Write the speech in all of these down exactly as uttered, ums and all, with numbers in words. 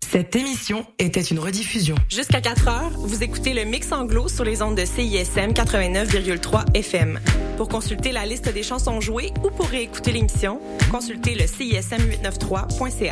Cette émission était une rediffusion. Jusqu'à quatre heures, vous écoutez le Mix Anglo sur les ondes de C I S M quatre-vingt-neuf virgule trois F M. Pour consulter la liste des chansons jouées ou pour réécouter l'émission, consultez le C I S M huit cent quatre-vingt-treize point C A.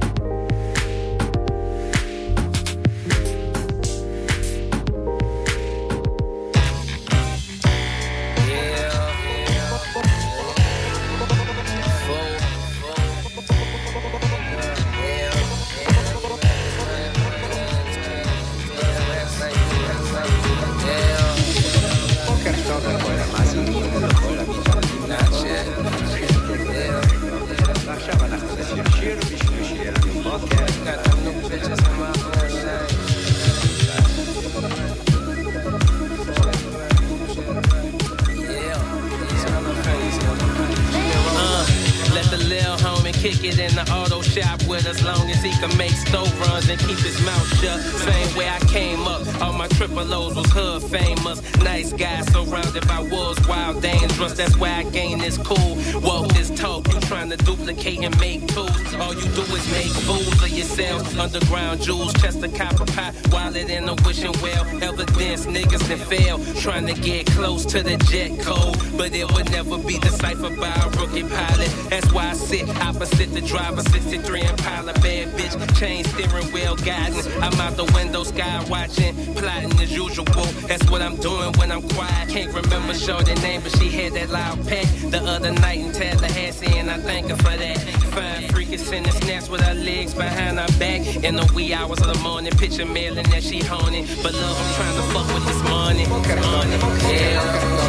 Kick it in the auto shop with us long as he can make stove runs and keep his mouth shut. Same way I came up, all my triple O's was hood famous. Nice guy surrounded by wolves, wild, dangerous. That's why I gained this cool. Walk this talk, you trying to duplicate and make tools. All you do is make fools of yourself. Underground jewels, chest of copper pot, wallet in a wishing well. Evidence niggas that fail, trying to get close to the jet code. But it would never be deciphered by a rookie pilot. That's why I sit opposite the driver, sixty-three Impala, bad bitch, chain steering wheel guiding. I'm out the window, sky watching, plotting as usual. That's what I'm doing when I'm quiet. Can't remember shorty name, but she had that loud pack the other night in Tallahassee, and I thank her for that. Fine freaking sending snaps with her legs behind her back in the wee hours of the morning. Picture mailing that she honing, but love, I'm trying to fuck with this money. Money, yeah,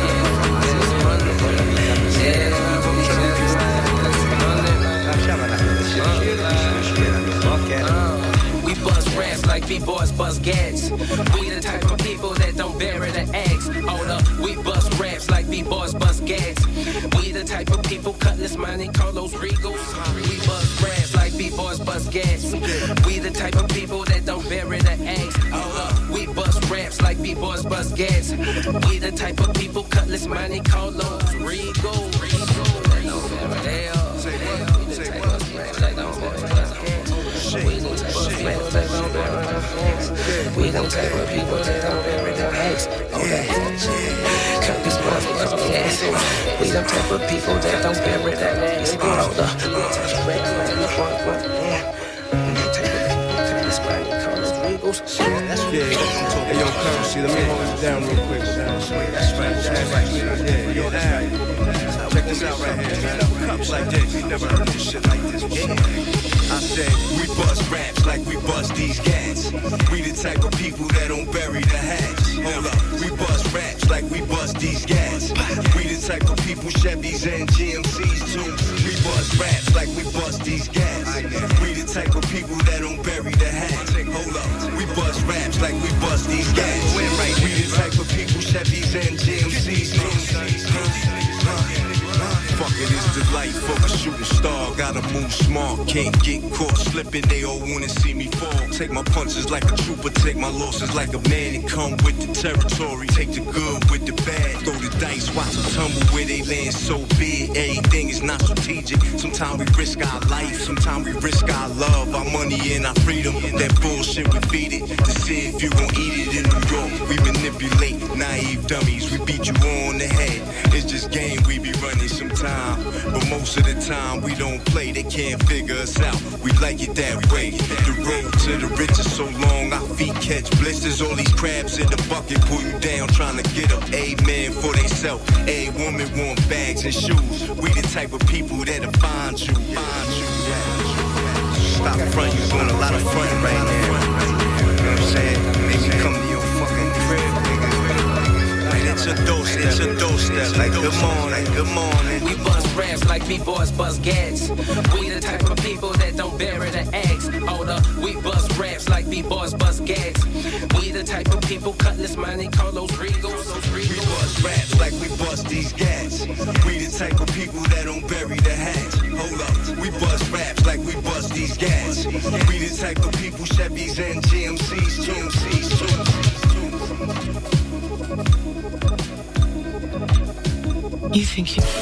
yeah. We bust raps like B-boys bust gats. We the type of people that don't bury the axe. Hold up, we bust raps like B-boys bust gats. We the type of people Cutlass Monte Carlos Regals. We bust raps like B-boys bust gats. We the type of people that don't bury the axe. Hold up, we bust raps like B-boys bust gats. We the type of people Cutlass Monte Carlos Regals. We don't take with people that don't bury their eggs. Cut this motherfucker gas. We don't take with people that don't bury their eggs. Hold up. We don't take with people that don't bury their eggs. Yeah, that's yeah, hey, yo, Currency, let me hold this down real quick. That's right, that's right. Yeah, yo, that's right. Check this out right here, man. Cups like this, you never heard this shit like this before. I said, we bust raps like we bust these gats. We the type of people that don't bury the hatch. Hold up, we bust raps like we bust these gats. We the type of people Chevys and G M Cs too. We bust raps like we bust these gats. We the type of people that don't bury the hatch. Hold up, we bust raps like we bust these gats. We the type of people Chevys and G M Cs too. Fuck it, it's the life of a shooting star. Gotta move smart, can't get caught slipping. They all wanna see me fall. Take my punches like a trooper, take my losses like a man and come with the territory. Take the good with the bad, throw the dice, watch them tumble where they land so big. Everything is not strategic. Sometimes we risk our life, sometimes we risk our love, our money and our freedom. That bullshit we feed it to see if you gon' eat it in New York. We manipulate naive dummies, we beat you on the head. It's just game we be running sometimes, but most of the time we don't play. They can't figure us out. We like it that way. The road to the riches so long, our feet catch blisters. All these crabs in the bucket pull you down, trying to get up. A man for they self, a woman want bags and shoes. We the type of people that'll find you, find you. Stop front, you doing a lot of front right now. You know what I'm saying? Make me come to your fucking crib, nigga. It's a dose, it's a dose step. Like good morning, good morning. We bust raps like B-boys bust gats. We the type of people that don't bury the eggs. Hold up, we bust raps like B-boys bust gats. We the type of people Cutlass Monte Carlos Regals. We bust raps like we bust these gats. We the type of people that don't bury the hatch. Hold up, we bust raps like we bust these gats. We the type of people Chevys and G M Cs, G M Cs too. You think you...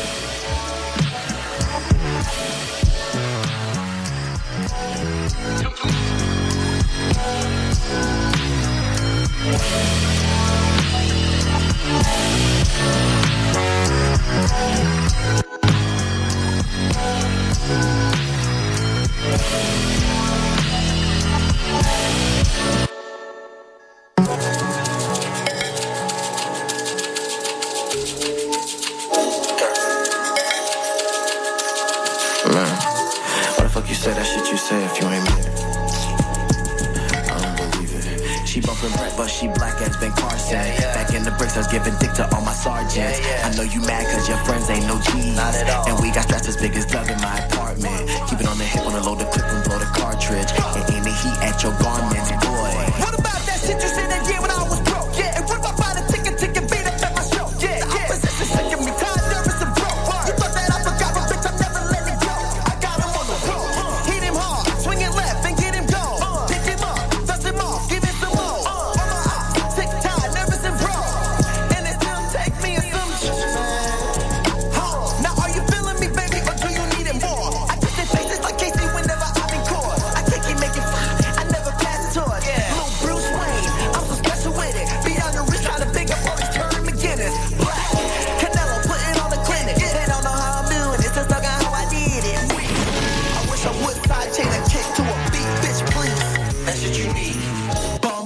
girlfriend Brett, but she black as Ben Carson. Yeah, yeah. Back in the bricks, I was giving dick to all my sergeants. Yeah, yeah. I know you mad cause your friends ain't no G's. Not at all. And we got straps as big as Doug in my apartment. Keep it on the hip on the load the clip and blow the cartridge. And aim the heat at your garments, boy. What about that shit you said that year when I was broke? Yeah, and what about buying a ticket, ticket, beat up at my show? Yeah, the yeah. Opposition shaking me, tired, nervous, and broke. You thought that I forgot, but bitch, I'm never letting go. I got him on the road, uh, hit him hard, swing it left and get him gone. Uh, Pick him up, dust him off, give him some more. Uh, on my ops, tick, tired, nervous, and broke. And it still take me in some shit, man. Huh. Now are you feeling me, baby, or do you need it more? I kiss their faces like Casey whenever I'm in court. I can't keep making fire, I never pass the torch. Yeah. Little Bruce Wayne, I'm so special with it. Beyond the reach, trying to pick up all these Terry McGinnis. Black, Canelo, putting on the clinic. They don't know how I'm doing it, just talking how I did it. I wish I would side chain a kick to a beat, bitch, please. That's what you need. Bum.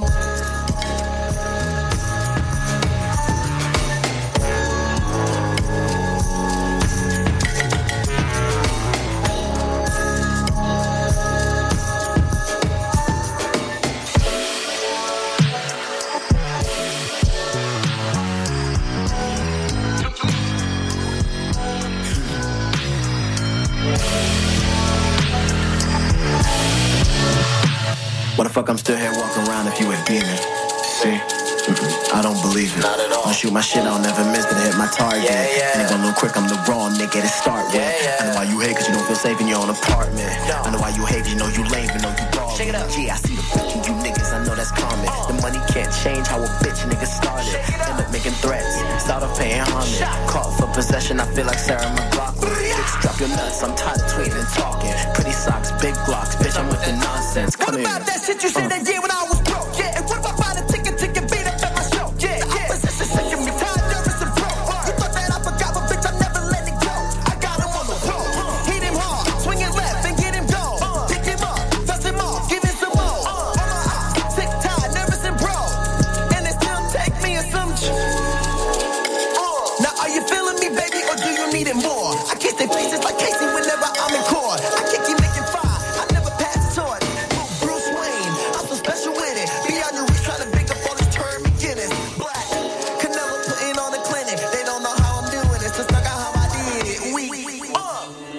Why the fuck I'm still here walking around if you a demon? See? Mm-mm, I don't believe it. Not at all. I shoot my shit, I'll never miss, but hit my target. Yeah, yeah. Nigga, a little quick, I'm the raw nigga to start with. Yeah, yeah. I know why you hate, cause you don't feel safe in your own apartment. No. I know why you hate, you know you lame, you know you bald. Shake it up. Yeah, I see the bitch in you niggas, I know that's common. Uh. The money can't change how a bitch nigga started. End up making threats, start off paying homage. Shot. Caught for possession, I feel like Sarah McLachlan. Bitch, drop your nuts, I'm tired of tweeting and talking. Pretty socks, big blocks, bitch, I'm with the nonsense. Come what here. What about that shit you said uh. that year when I was broke? Yeah, and what about buying a ticket, ticket, beat up at my show? Yeah, the yeah. Opposition shaking me, tired, nervous, and broke. You thought that I forgot, but bitch, I'm never letting go. I got him on the road, uh, hit him hard, swing it left and get him gone. Uh, Pick him up, dust him off, give him some more. Uh, on my ops, sick, tired, nervous, and broke. And it still take me in some ch- uh. Now are you feeling me, baby, or do you need it more? I kiss their faces like Casey whenever I'm in court. I can't keep making fire, I never pass the torch. Little Bruce Wayne, I'm so special with it. Beyond your reach, trying to pick up all these Terry McGinnis. Black, Canelo putting on the clinic. They don't know how I'm doing it, just like how I did it. We, we, we, uh.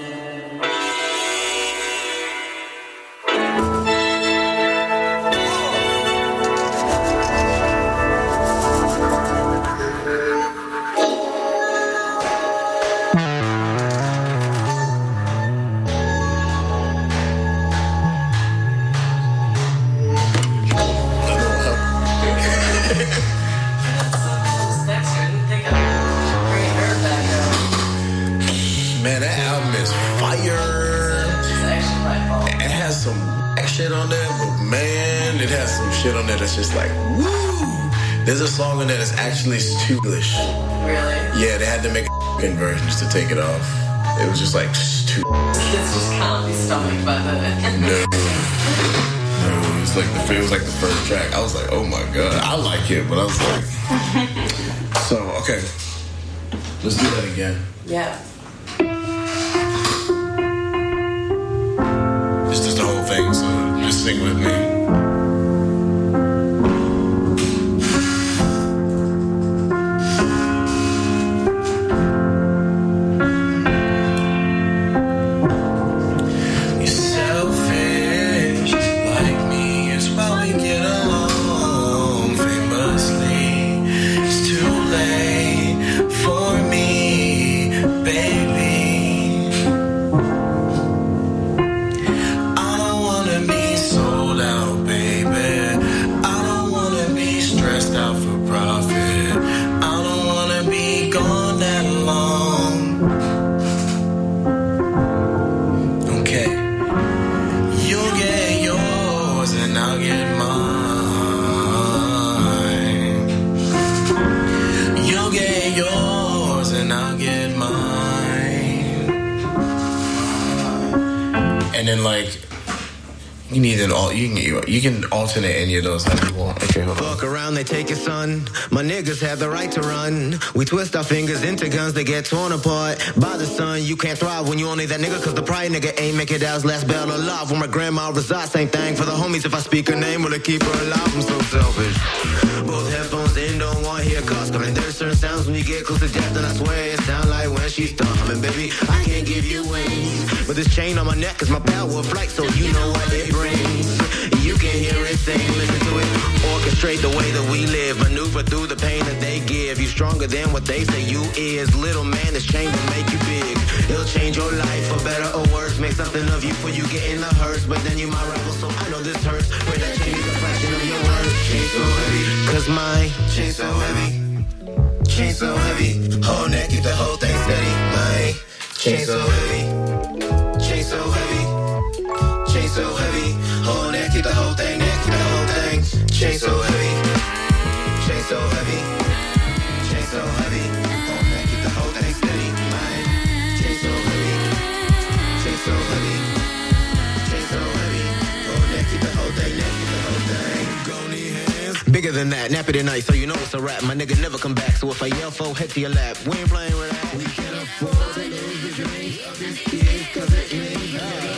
Man, that album is fire. It has some shit on there, but man, it has some shit on there that's just like, woo! There's a song on there that's actually English. Really? Yeah, they had to make a version just to take it off. It was just like, too. This just can't be stomached by the... No. No, it was like the it was like the first track. I was like, oh my god, I like it, but I was like, so okay, let's do that again. Yeah. This is the whole thing, so just sing with me. Sold out, baby. You need an all. You can you can alternate any of those how you want. Okay, hold on. Fuck around, they take your son. My niggas have the right to run. We twist our fingers into guns, they get torn apart by the sun. You can't thrive when you only that nigga, cause the pride nigga ain't make it out's last bell alive. Where my grandma resides, same thing for the homies. If I speak her name, will it keep her alive? I'm so selfish. Both headphones in, don't want to hear cuss coming. There's certain sounds when you get close to death, and I swear it sound like when she's thumbing. Baby, I can't give you wings, but this chain on my neck is my power of flight, so you know what it brings. You can hear it sing, listen to it. Orchestrate the way that we live, maneuver through the pain that they give. You stronger than what they say you is. Little man, this chain will make you big. It'll change your life for better or worse. Make something of you before you get in the hearse. But then you my rival, so I know this hurts. Where that chain is a fraction of your worth. Chain so heavy, cause my chain so heavy. Chain so heavy, whole neck, keep the whole thing steady. My chain so heavy. Chain so heavy. Chain so heavy, whole neck, keep the whole thing, neck, keep the whole thing. Chain so heavy, chain so heavy, chain so heavy, whole neck, keep the whole thing steady. My chain so heavy, chain so heavy, chain so heavy, whole neck, keep the whole thing, neck, keep the whole thing. Go need hands. Bigger than that, nappy tonight, so you know it's a rap. My nigga never come back, so if I yell for, head to your lap. We ain't playing with that. We can't afford to lose the dreams of these kids, cause it means nothing.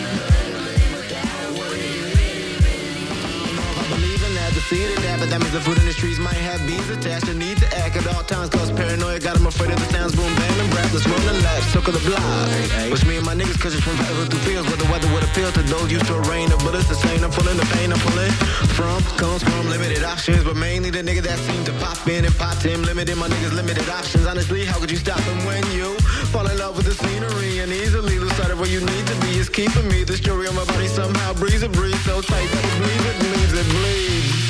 To see the dad, but that means the food in the streets might have bees attached. The need to act at all times cause paranoia got them afraid of the sounds. Boom, bam, and rap. Let's roll the laps, circle the block. Wish me and my niggas cause it's from forever through fields where the weather would appeal to those used to a rain of bullets. The same, I'm pulling the pain I'm pulling from comes from limited options, but mainly the nigga that seemed to pop in and pop him. Limited my niggas, limited options. Honestly, how could you stop them when you fall in love with the scenery and easily lose sight of where you need to be? It's keeping me. The story on my body somehow breathes a breeze so tight that it bleeds, it bleeds, it bleeds.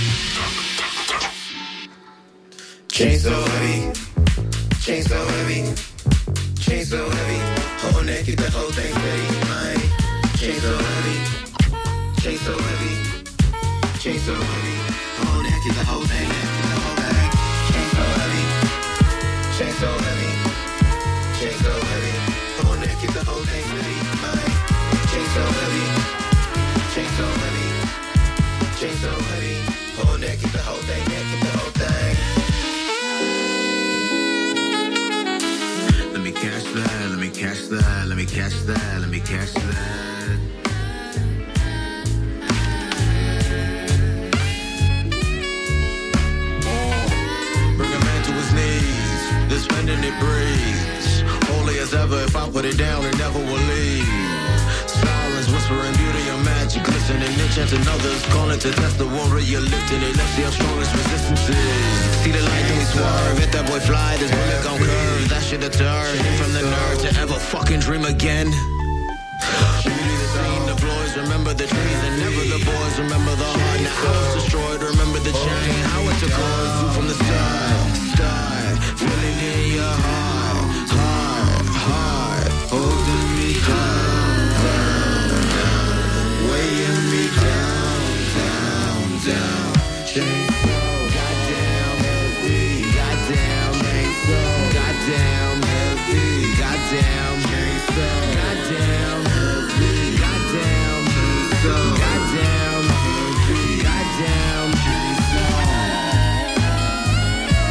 Chain so heavy, chain so heavy, chain so heavy, whole neck, keep the whole thing steady. My chain so heavy, chain so heavy, chain so heavy, whole neck, keep the whole thing, neck, keep the whole thing. Chain so heavy, chain so heavy, chain so heavy, whole neck, keep the whole thing steady. My chain so heavy, chain so heavy, chain so heavy, whole neck, keep the whole thing, neck, keep the whole thing. Let me catch that, let me catch that, let me catch that, let me catch that. Bring a man to his knees, the spending it breathes. Holy as ever, if I put it down, it never will leave. Silence, whispering beauty and magic, glistening, enchanting others, calling to test the warrior, lifting it. Let's see how strong his resistance is. See the light through his swerve, hit that boy fly, this bullet gon' curve. That shit deter him from the nerve to ever fucking dream again. Beauty the scene, the boys remember the trees, and never the boys remember the heart. Now I was destroyed, remember the chain, how it took hold you from the start. Start feeling in your heart, heart, heart, holding me down, down, down, weighing me down, down, down. Chain so goddamn heavy, goddamn chain so goddamn heavy, goddamn chain so goddamn heavy, goddamn chain so goddamn heavy, goddamn chain so.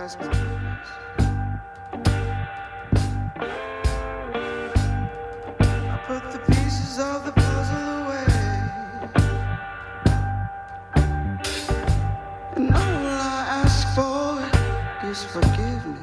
ask forgiveness. I put the pieces of the puzzle away, and all I ask for is forgiveness.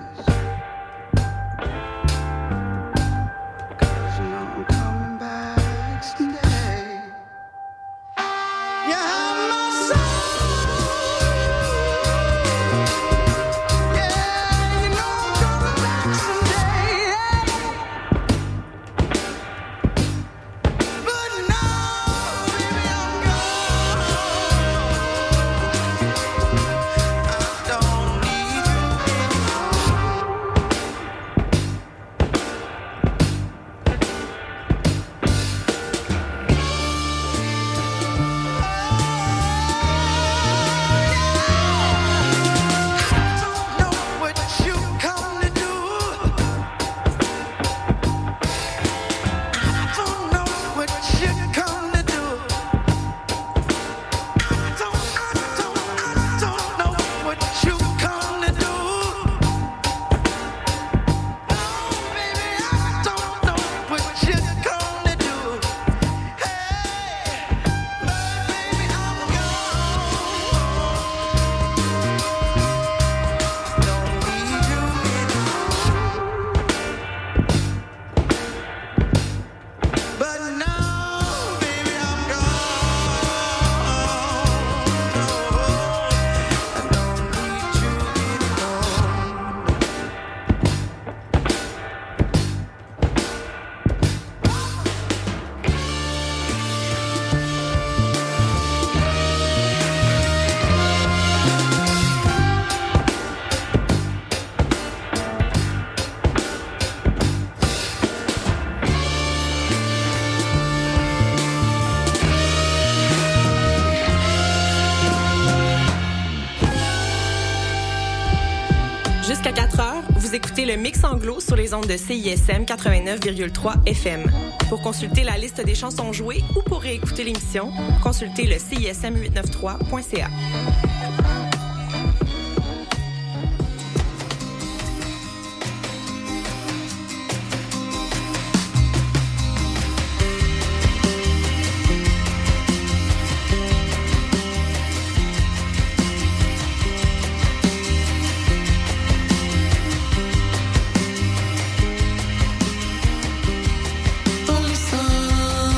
Écoutez le Mix Anglo sur les ondes de C I S M quatre-vingt-neuf virgule trois F M. Pour consulter la liste des chansons jouées ou pour réécouter l'émission, consultez le C I S M huit cent quatre-vingt-treize point C A.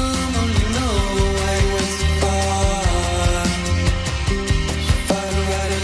Find the right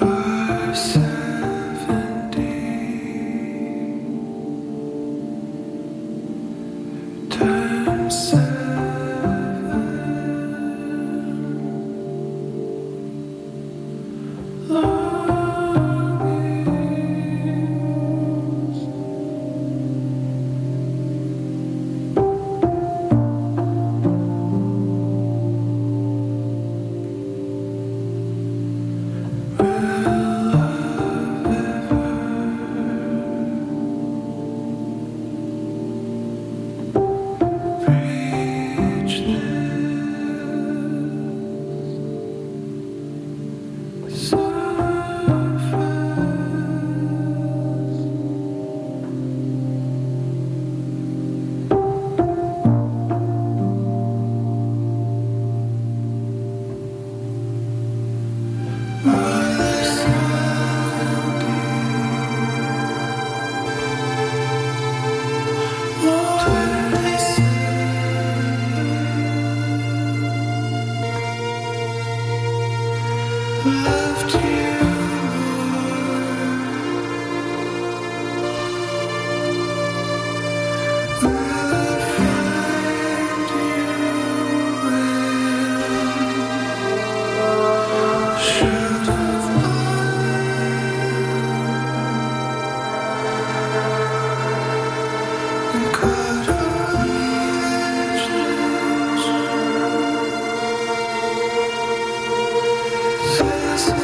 Yes.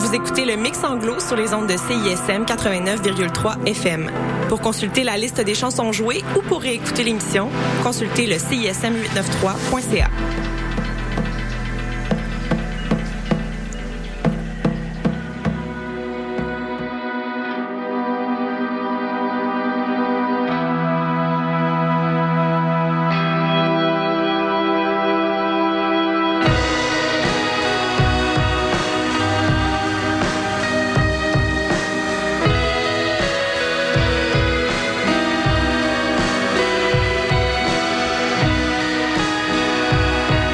Vous écoutez le Mix Anglo sur les ondes de C I S M quatre-vingt-neuf virgule trois F M. Pour consulter la liste des chansons jouées ou pour réécouter l'émission, consultez le C I S M huit cent quatre-vingt-treize point C A. Thank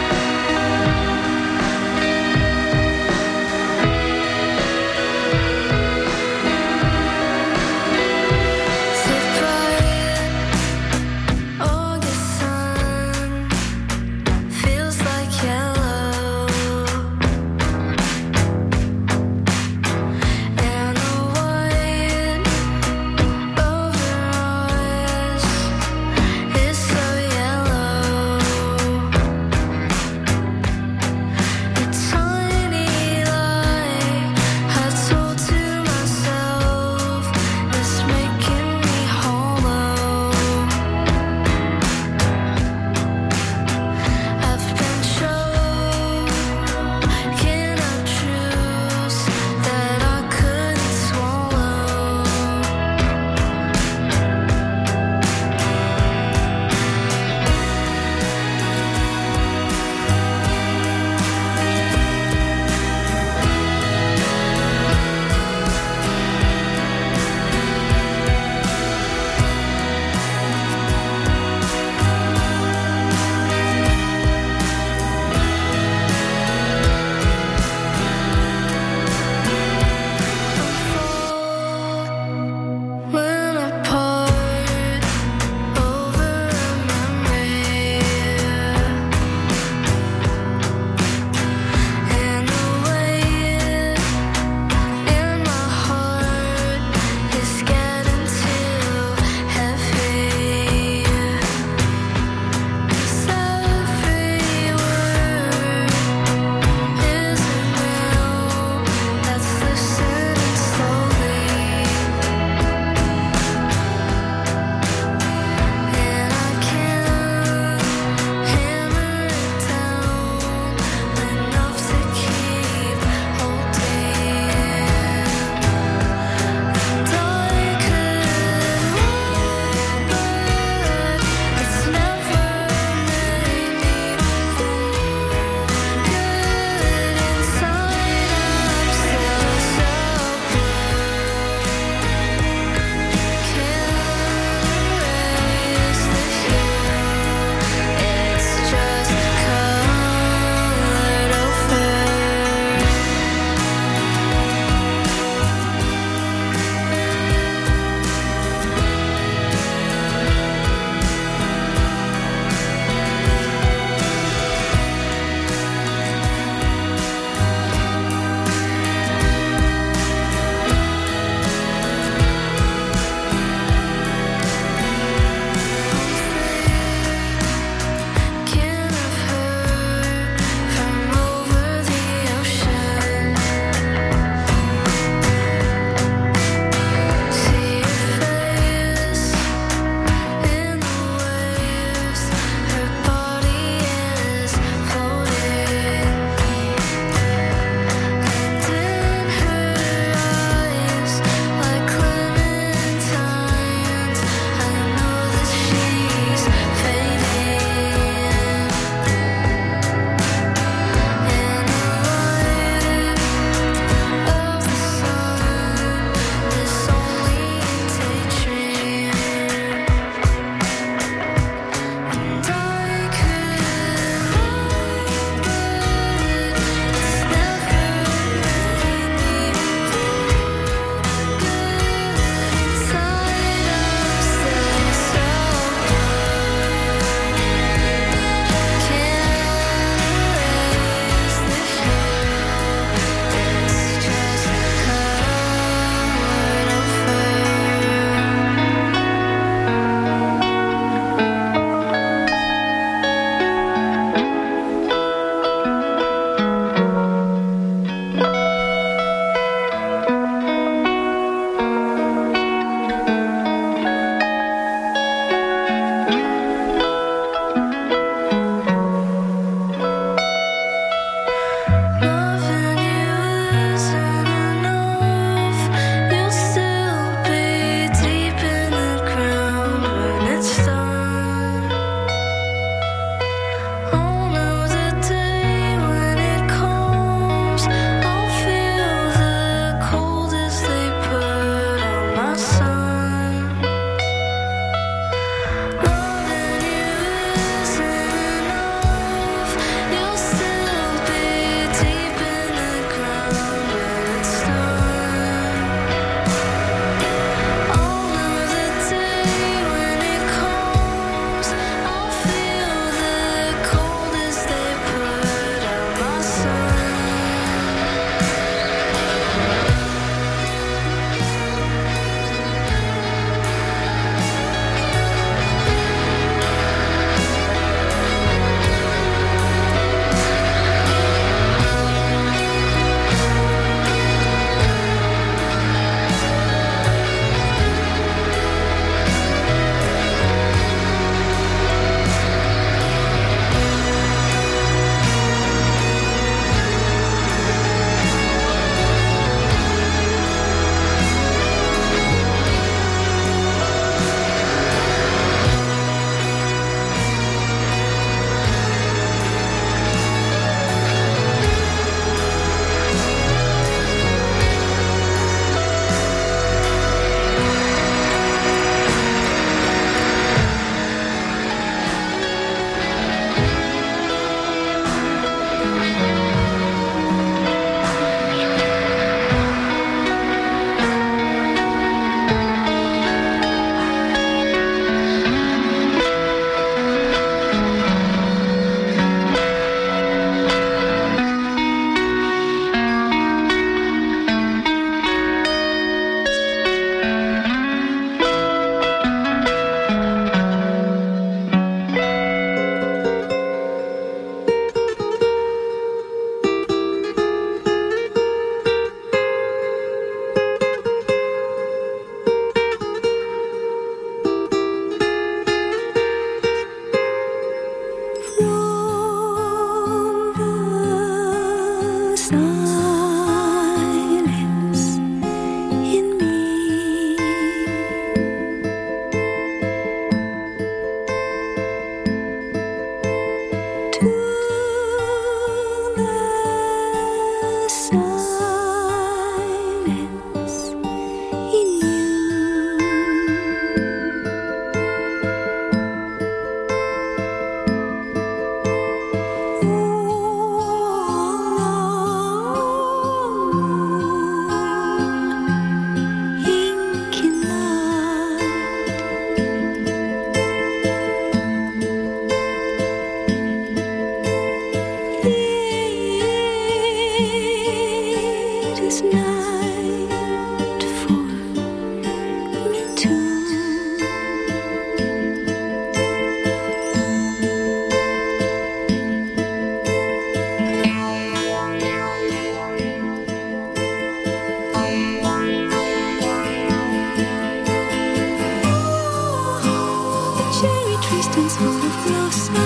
distance full of blossom.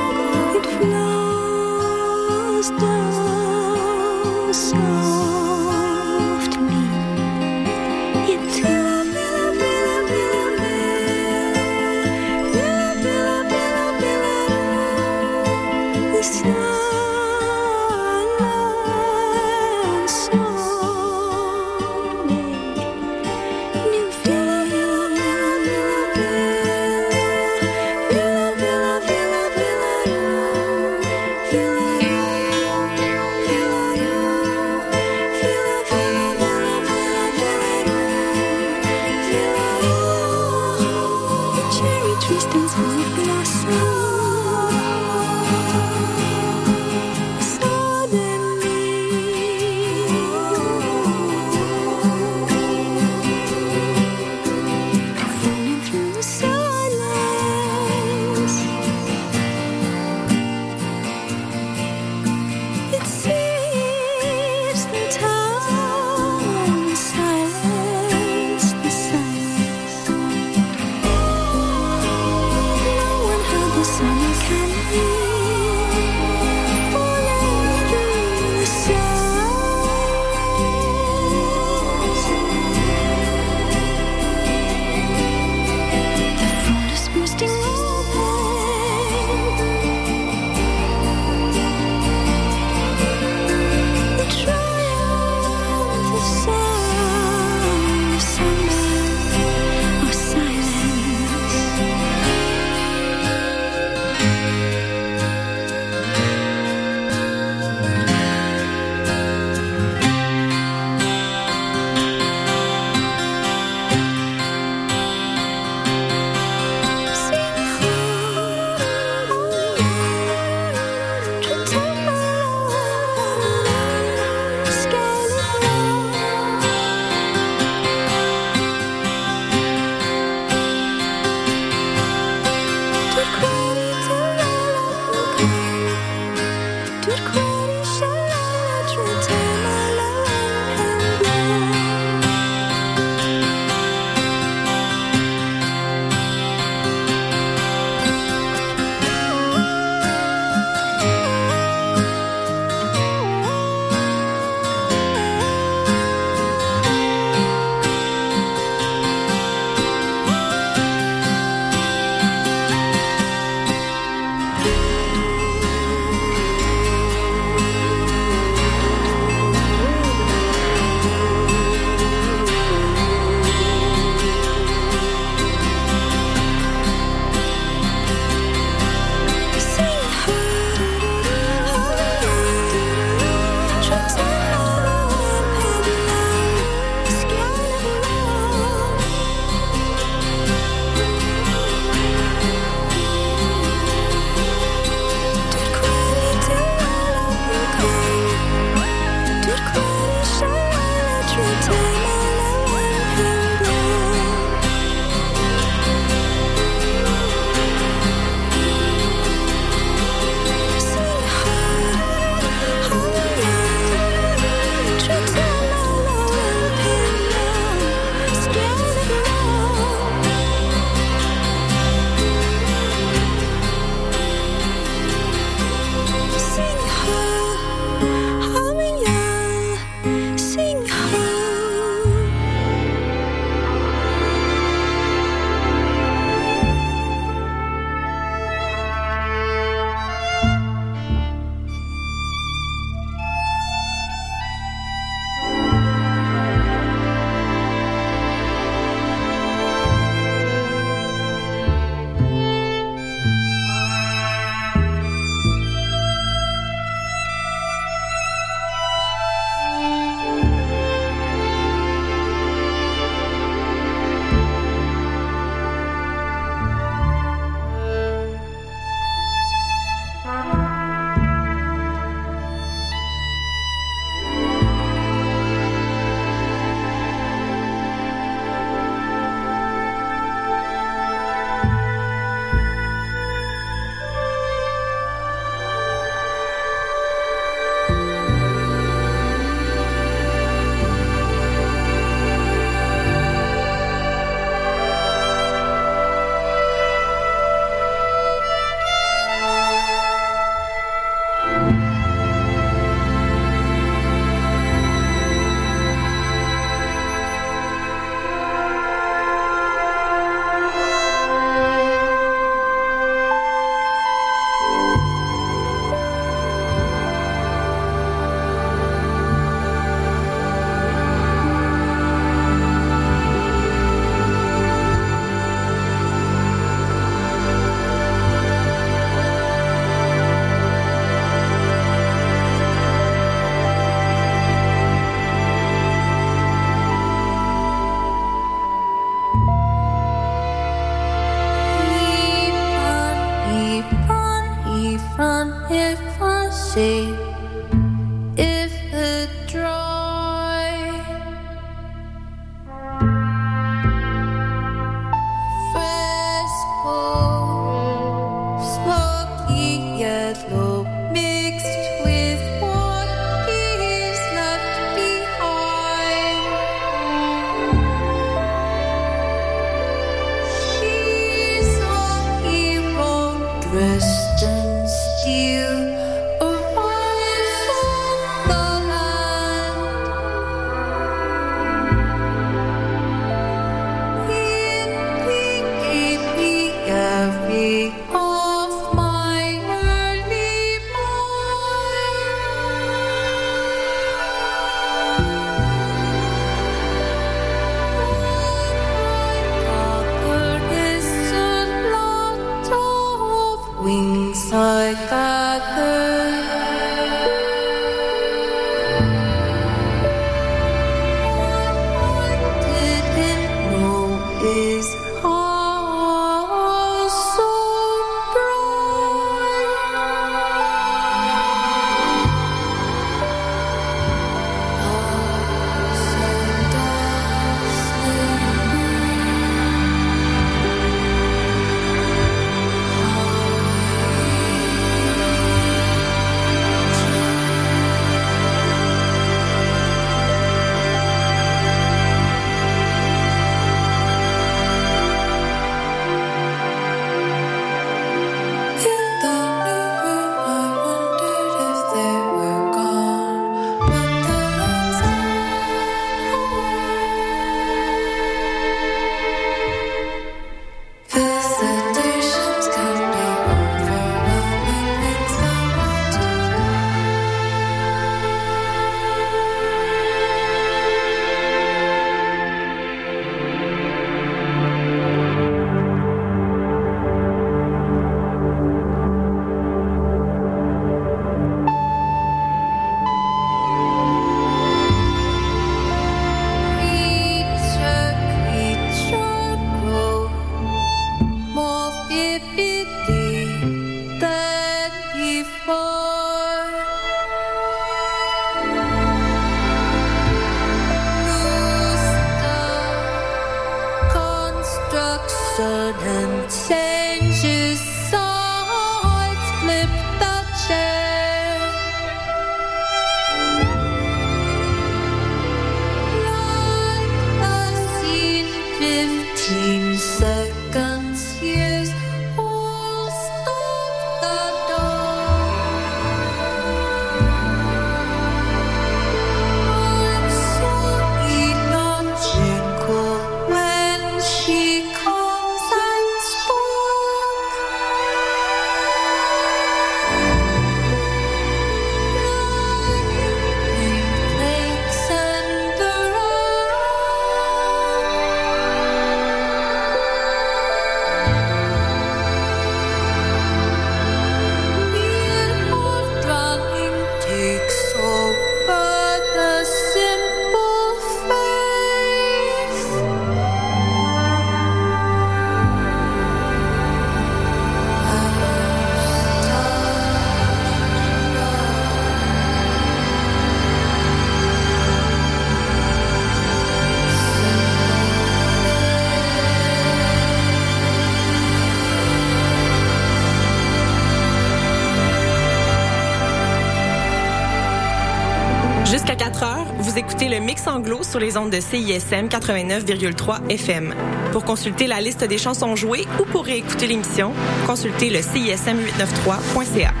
le Mix Anglo sur les ondes de C I S M quatre-vingt-neuf virgule trois F M. Pour consulter la liste des chansons jouées ou pour réécouter l'émission, consultez le C I S M huit cent quatre-vingt-treize point C A.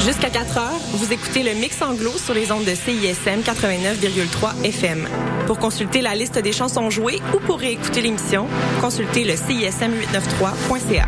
Jusqu'à quatre heures, vous écoutez le Mix Anglo sur les ondes de C I S M quatre-vingt-neuf virgule trois F M. Pour consulter la liste des chansons jouées ou pour réécouter l'émission, consultez le C I S M huit cent quatre-vingt-treize point C A.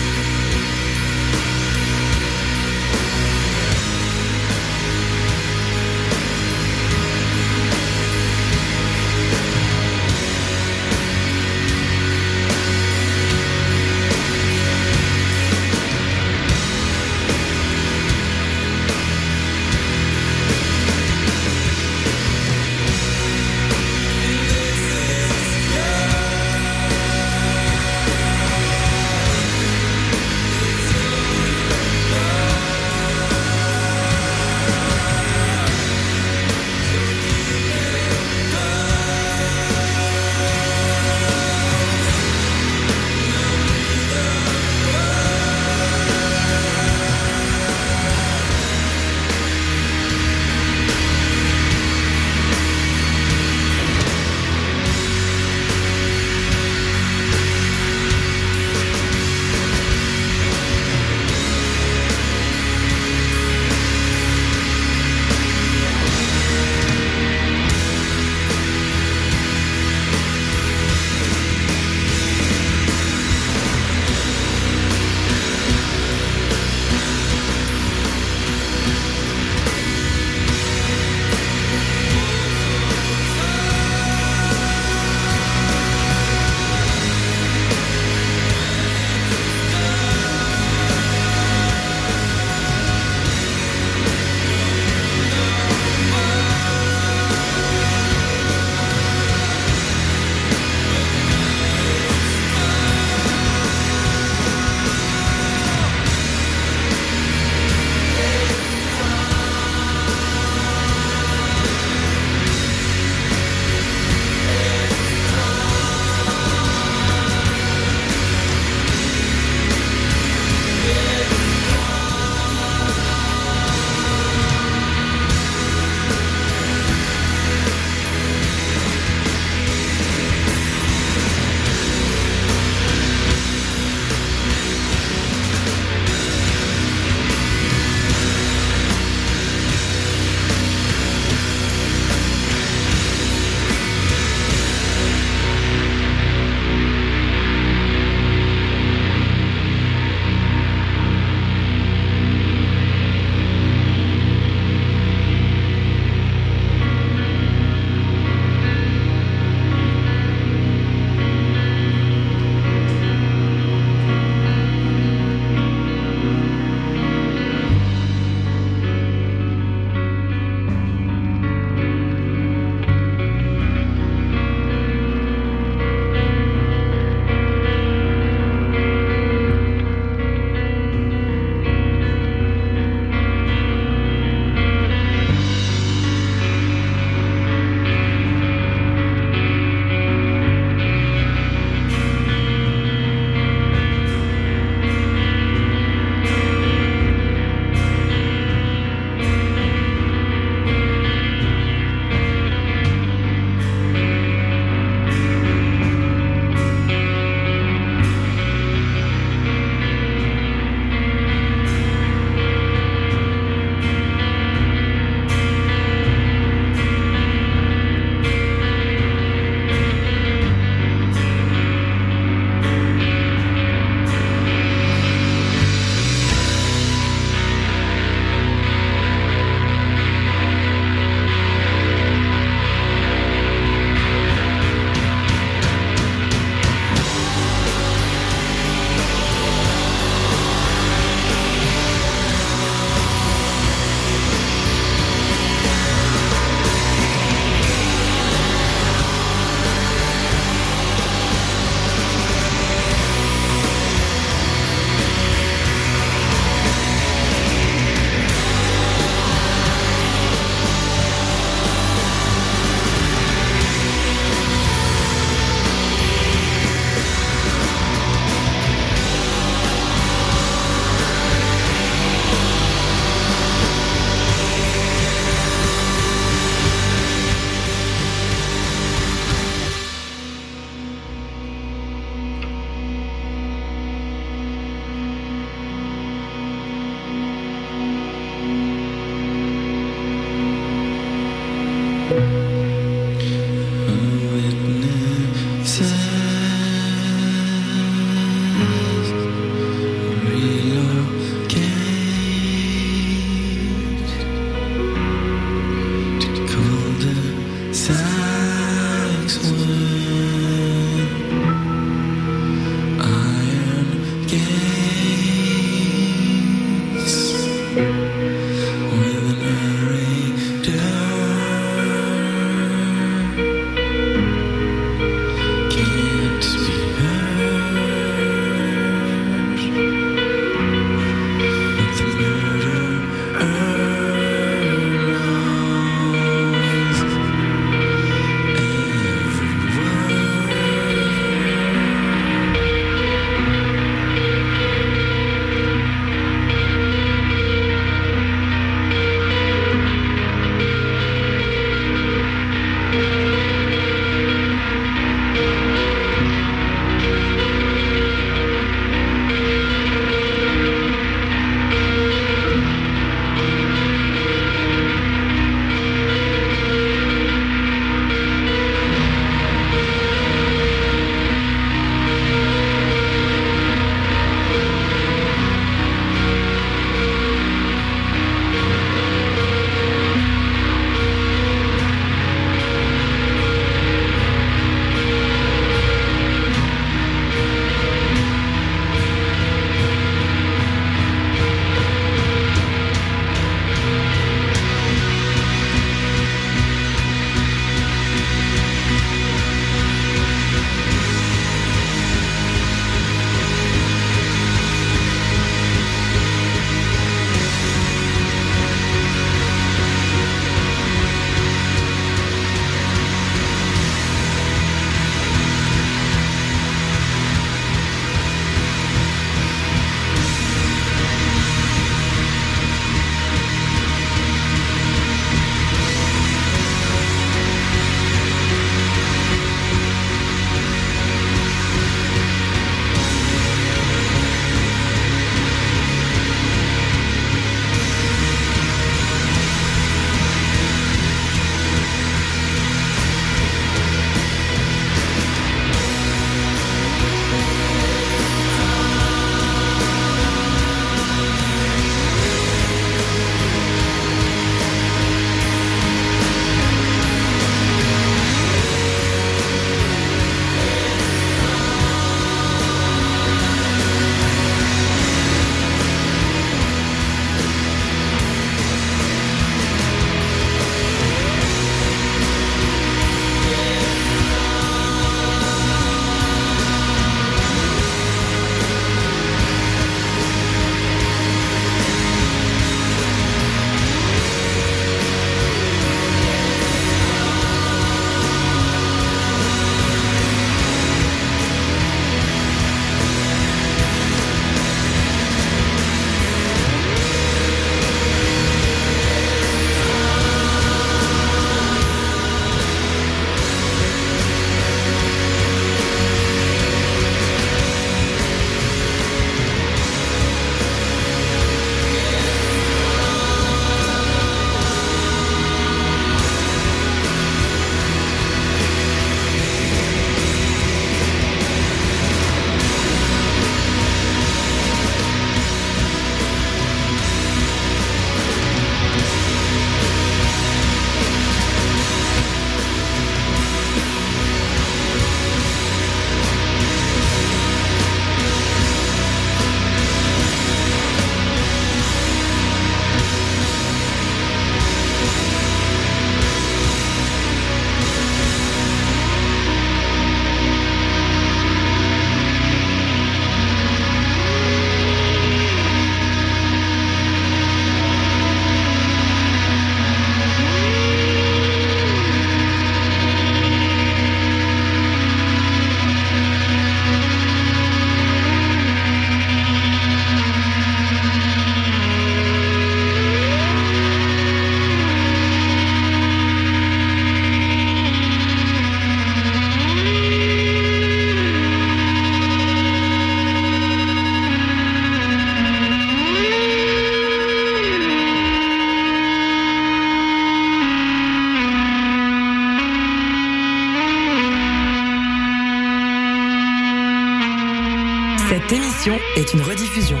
Cette émission est une rediffusion.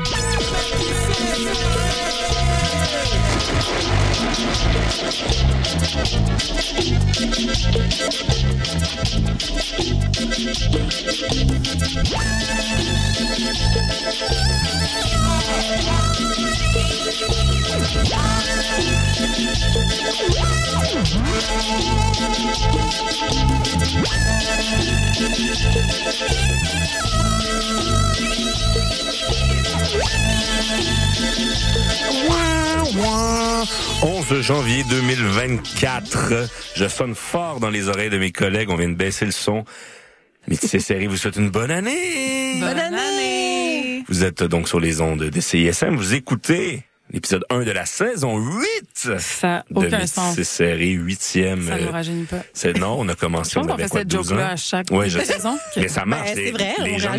onze janvier deux mille vingt-quatre. Je sonne fort dans les oreilles de mes collègues. On vient de baisser le son. Métis Série vous souhaite une bonne année. Bonne année. Vous êtes donc sur les ondes de C I S M. Vous écoutez l'épisode un de la saison huit. Ça n'a de aucun sens. Métis Série, huitième. Ça ne nous rajeunit pas. C'est, non, on a commencé, Je pense on qu'on avait fait quoi, cette douze joke-là ans? à chaque Ouais, je sais. saison. Mais ça marche. Ben, c'est les, vrai, les on gens